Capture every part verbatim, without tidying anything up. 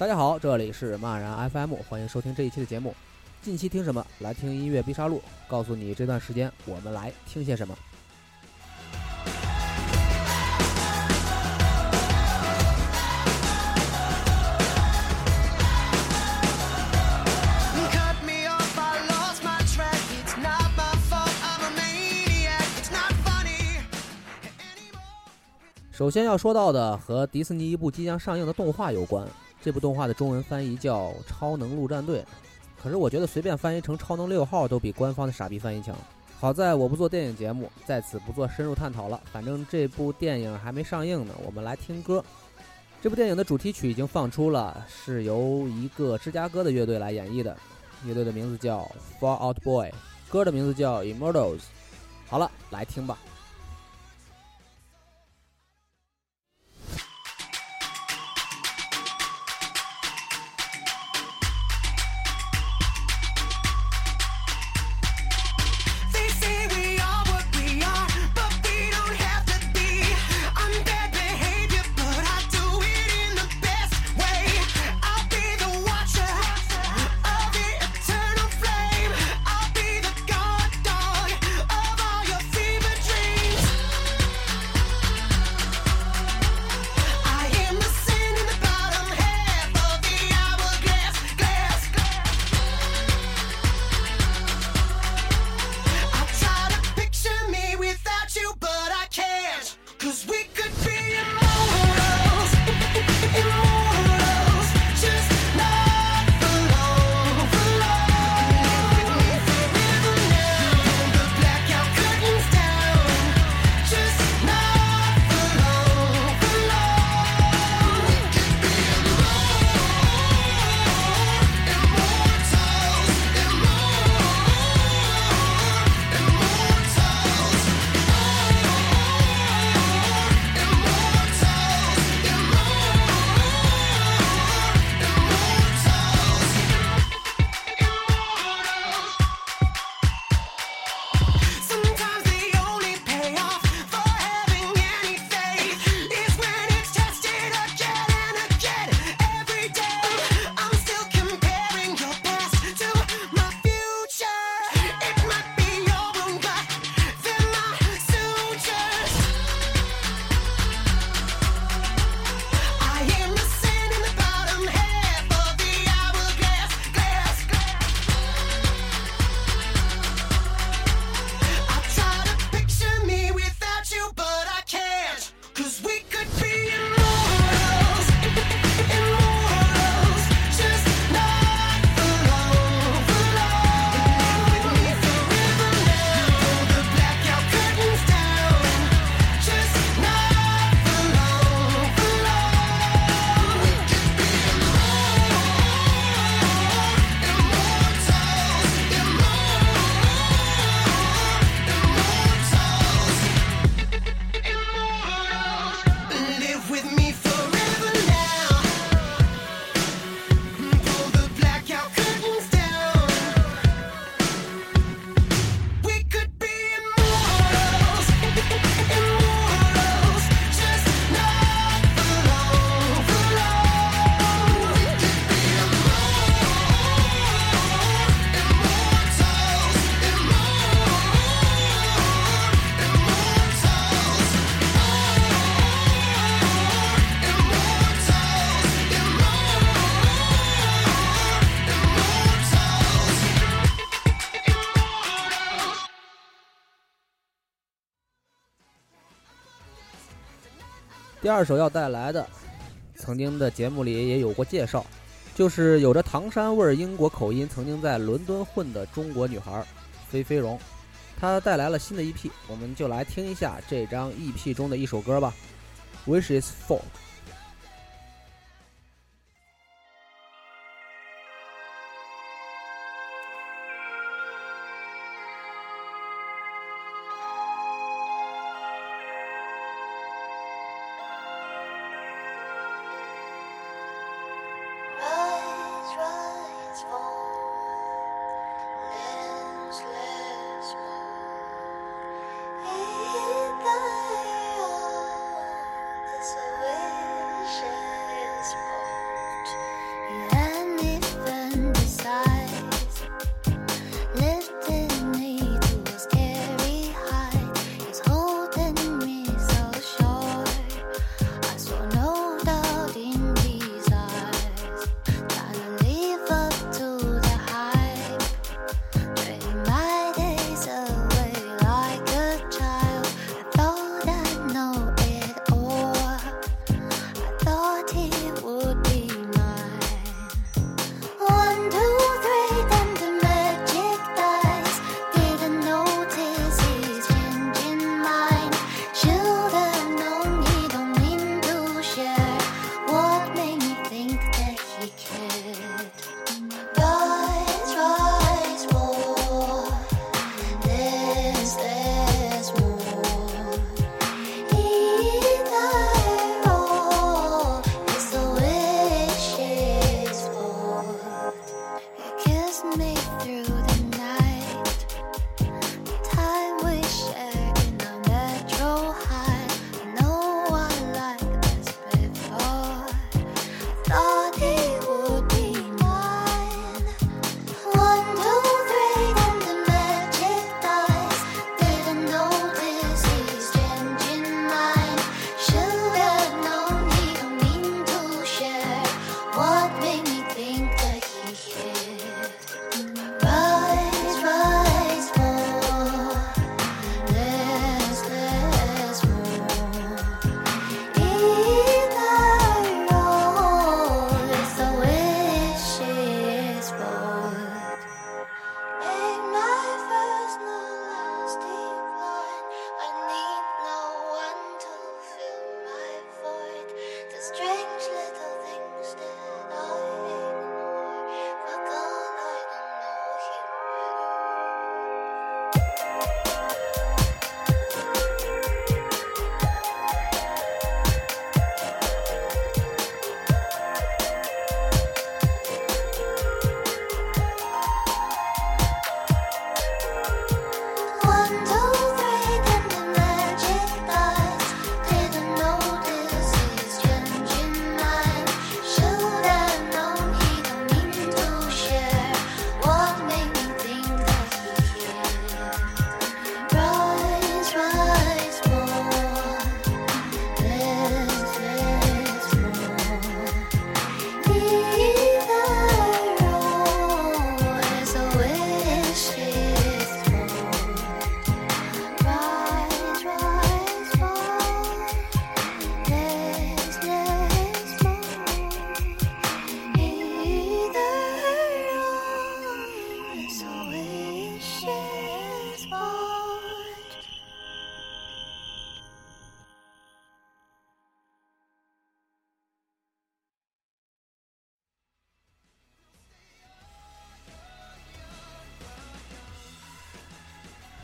大家好，这里是骂然 F M， 欢迎收听这一期的节目。近期听什么？来听音乐必杀录，告诉你这段时间我们来听些什么。首先要说到的和迪士尼一部即将上映的动画有关，这部动画的中文翻译叫《超能陆战队》，可是我觉得随便翻译成《超能六号》都比官方的傻逼翻译强。好在我不做电影节目，在此不做深入探讨了，反正这部电影还没上映呢，我们来听歌。这部电影的主题曲已经放出了，是由一个芝加哥的乐队来演绎的，乐队的名字叫 Fall Out Boy， 歌的名字叫 Immortals。 好了，来听吧。第二首要带来的，曾经的节目里也有过介绍，就是有着唐山味英国口音，曾经在伦敦混的中国女孩菲菲荣，她带来了新的 E P， 我们就来听一下这张 E P 中的一首歌吧， Wish is Folk。 Away.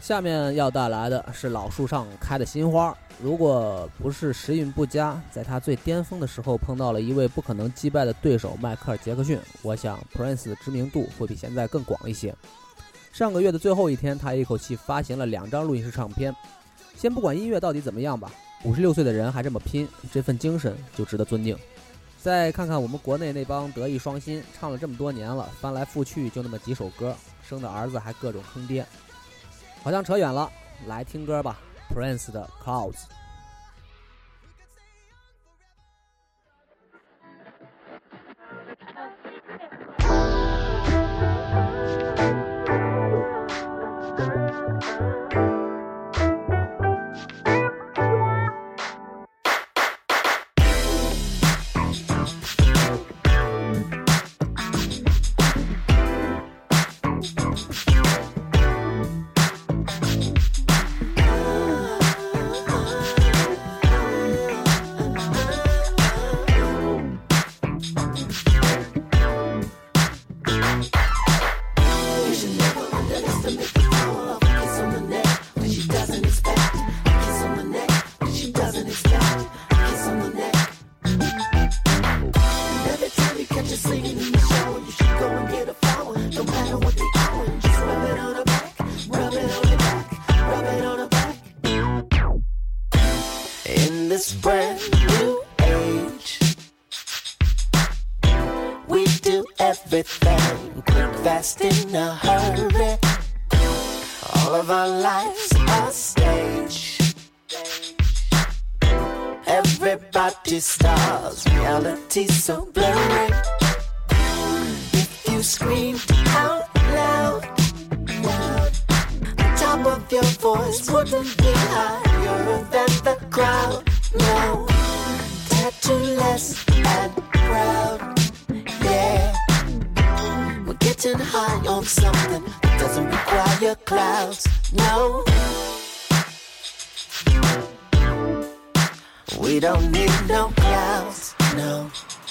下面要带来的是老树上开的新花。如果不是时运不佳，在他最巅峰的时候碰到了一位不可能击败的对手迈克尔·杰克逊，我想 Prince 的知名度会比现在更广一些。上个月的最后一天，他一口气发行了两张录音室唱片。先不管音乐到底怎么样吧，五十六岁的人还这么拼，这份精神就值得尊敬。再看看我们国内那帮德艺双馨，唱了这么多年了，翻来覆去就那么几首歌，生的儿子还各种坑爹。好像扯远了，来听歌吧。Prince 的 Clouds。 Everything quick, fast, in a hurry. All of our lives are stage. Everybody stars, reality so blurry. If you screamed out loud, loud, the top of your voice wouldn't be higher than the crowd. No, tattoo-less and proud. Yeah, we're getting high on something that doesn't require clouds. No, we don't need no clouds. No,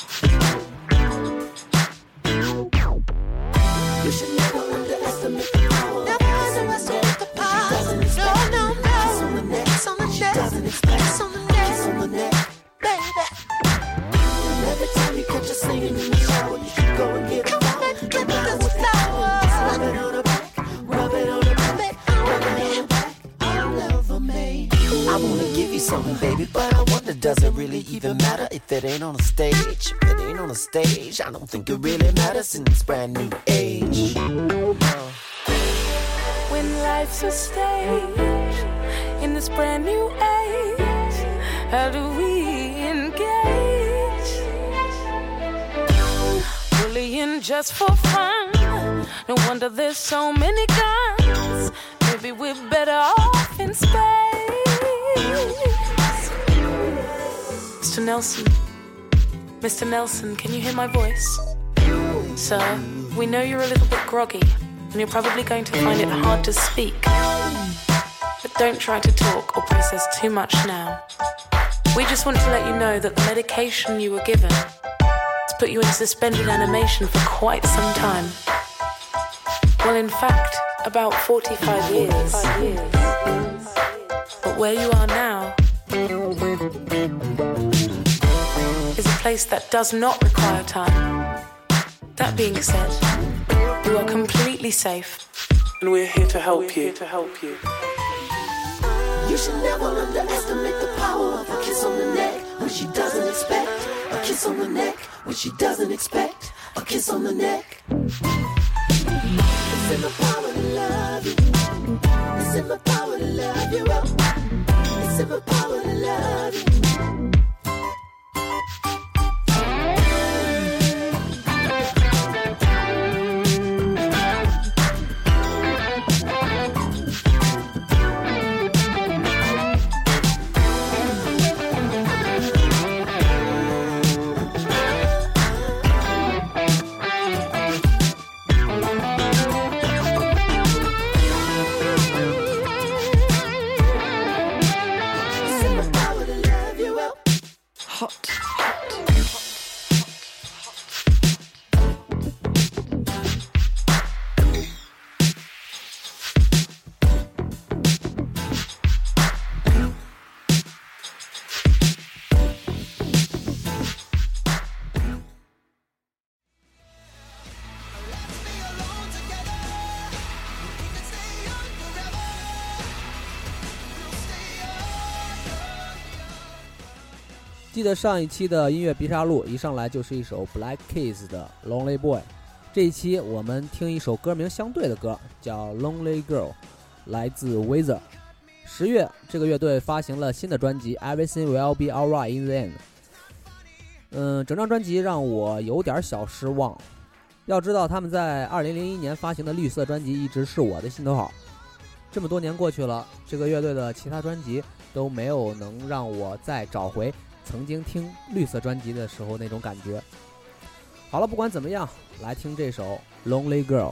you should never underestimate the power. Never underestimate the power. She doesn't expect. No, no, no. Kiss on the neck. Kiss on the neck. She doesn't expect. Kiss on the neck. Kiss on the neck, baby. Every time you catch her singing in the shower, you should go and get a flower. Get this flower. Just rub it on her back, rub it on her back, rub it on her back. All over me. I wanna give you something, baby, but I wonder, does it really even matter if it ain't on a stage? If it ain't on a stage, I don't think it really matters in this brand new age. When life's a stage, in this brand new age, how do we engage? Bullying just for fun, no wonder there's so many guns. Maybe we're better off in space. Mister Nelson, Mister Nelson, can you hear my voice? Sir, we know you're a little bit groggy, and you're probably going to find it hard to speak. But don't try to talk or process too much now. We just want to let you know that the medication you were given has put you in suspended animation for quite some time. Well, in fact, about forty-five years. But where you are now is a place that does not require time. That being said, you are completely safe, and we're here to help you. To help you. You should never underestimate the power of a kiss on the neck when she doesn't expect. A kiss on the neck when she doesn't expect. A kiss on the neck. It's in my power to love you. It's in my power to love you. It's in my power to love you. 记得上一期的音乐必杀录一上来就是一首 Black Keys 的 Lonely Boy， 这一期我们听一首歌名相对的歌，叫 Lonely Girl， 来自 Weezer。 十月这个乐队发行了新的专辑 Everything Will Be Alright in the End。 嗯，整张专辑让我有点小失望，要知道他们在二零零一年发行的绿色专辑一直是我的心头好，这么多年过去了，这个乐队的其他专辑都没有能让我再找回曾经听绿色专辑的时候那种感觉。好了，不管怎么样，来听这首 Lonely Girl。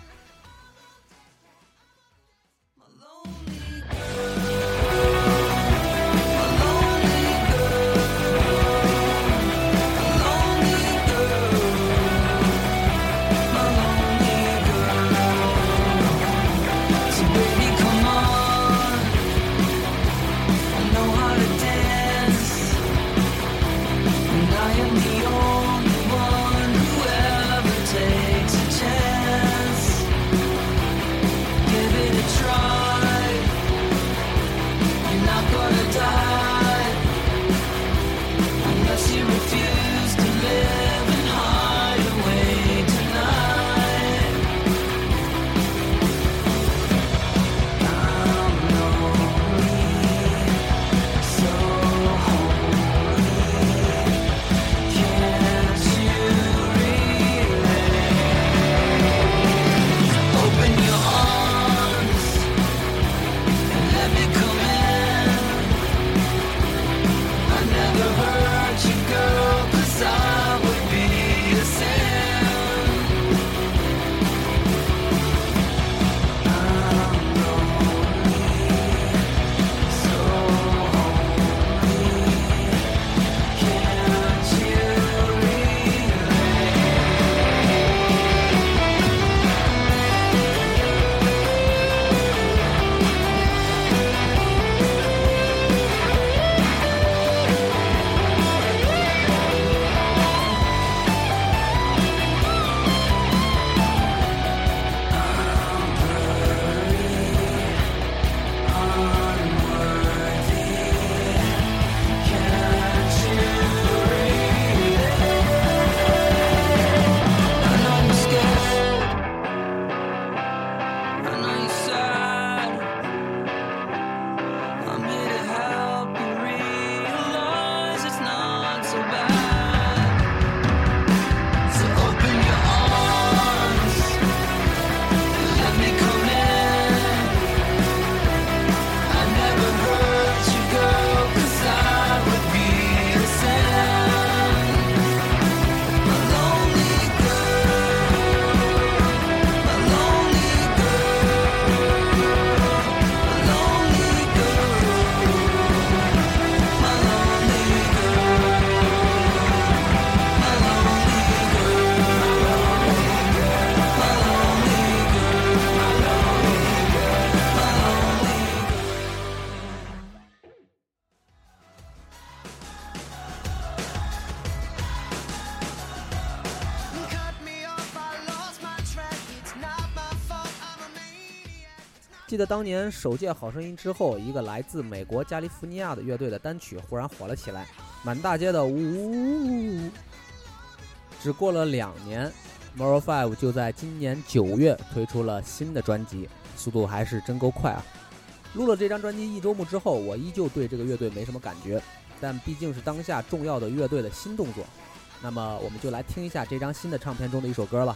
记得当年首届好声音之后，一个来自美国加利福尼亚的乐队的单曲忽然火了起来，满大街的呜呜呜。只过了两年 Maroon 五就在今年九月推出了新的专辑，速度还是真够快啊。录了这张专辑一周目之后，我依旧对这个乐队没什么感觉，但毕竟是当下重要的乐队的新动作，那么我们就来听一下这张新的唱片中的一首歌了，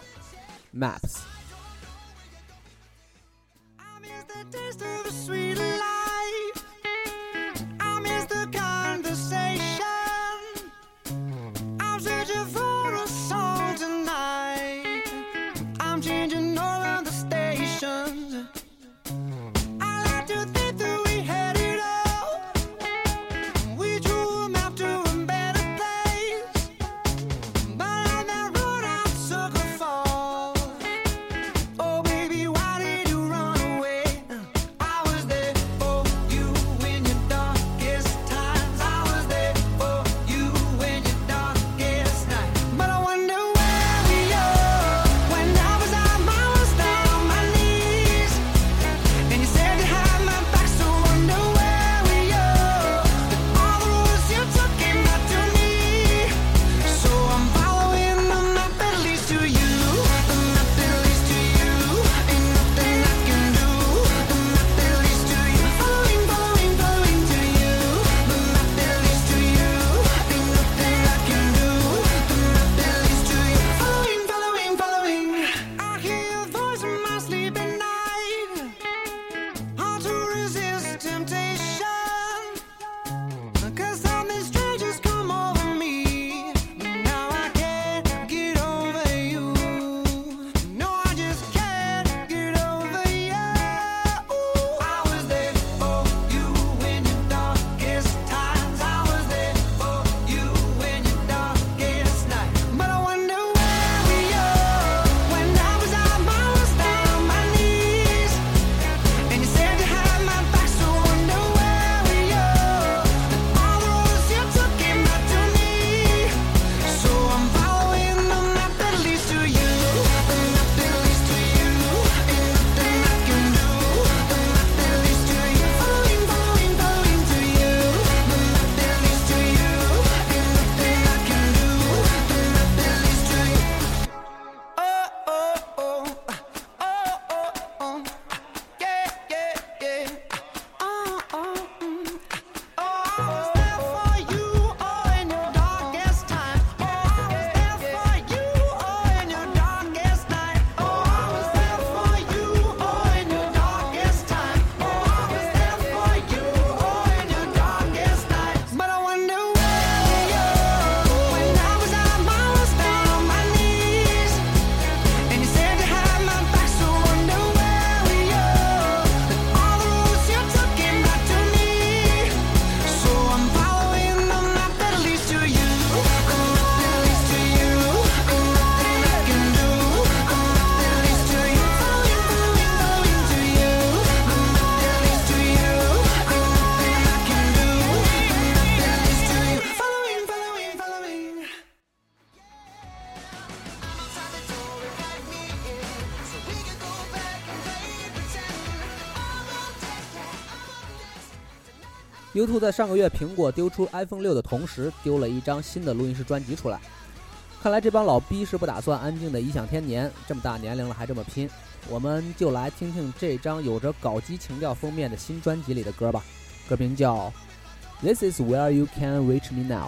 Maps。 U 二 在上个月苹果丢出 iPhone 六的同时，丢了一张新的录音室专辑出来。看来这帮老逼是不打算安静的颐享天年，这么大年龄了还这么拼。我们就来听听这张有着搞基情调封面的新专辑里的歌吧，歌名叫 This is where you can reach me now。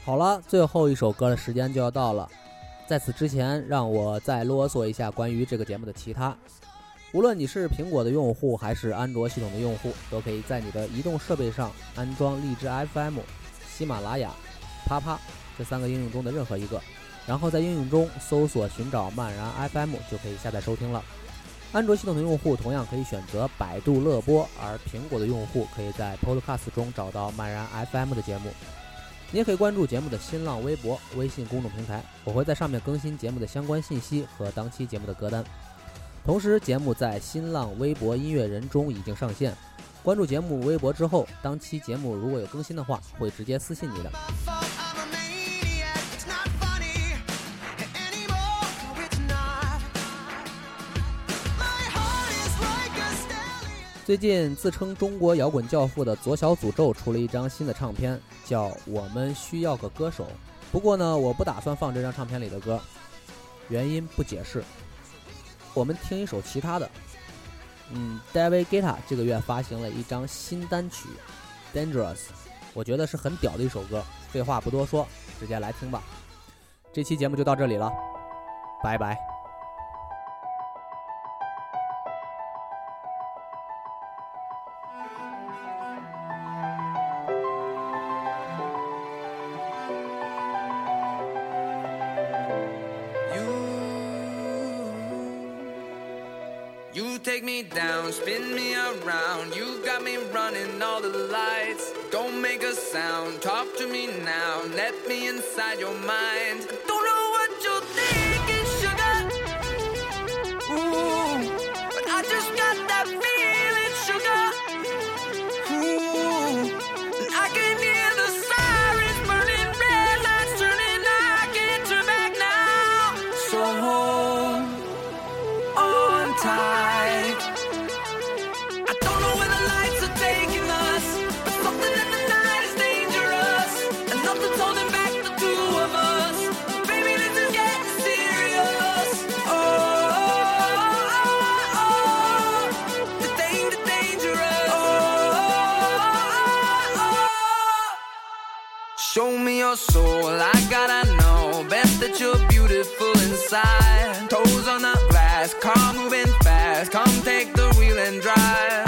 好了，最后一首歌的时间就要到了。在此之前，让我再啰嗦一下关于这个节目的其他。无论你是苹果的用户还是安卓系统的用户，都可以在你的移动设备上安装荔枝 F M、喜马拉雅、啪啪这三个应用中的任何一个，然后在应用中搜索寻找漫然 F M 就可以下载收听了。安卓系统的用户同样可以选择百度乐播，而苹果的用户可以在 Podcast 中找到漫然 F M 的节目。你也可以关注节目的新浪微博、微信公众平台，我会在上面更新节目的相关信息和当期节目的歌单。同时，节目在新浪微博音乐人中已经上线，关注节目微博之后，当期节目如果有更新的话，会直接私信你的。最近自称中国摇滚教父的左小诅咒出了一张新的唱片，叫《我们需要个歌手》。不过呢，我不打算放这张唱片里的歌，原因不解释。我们听一首其他的。嗯 David Guetta 这个月发行了一张新单曲 Dangerous， 我觉得是很屌的一首歌。废话不多说，直接来听吧。这期节目就到这里了，拜拜。 You take me down, spin me around. You got me running all the lights. Don't make a sound, talk to me now. Let me inside your mind. Don't know what you're thinking, sugar. Ooh, but I just got that feeling, sugar. Ooh, and I can hear the sirens burning, red lights turning. I can't turn back now. So hold on tight. Show me your soul, I gotta know. Best that you're beautiful inside. Toes on the glass, car moving fast. Come take the wheel and drive.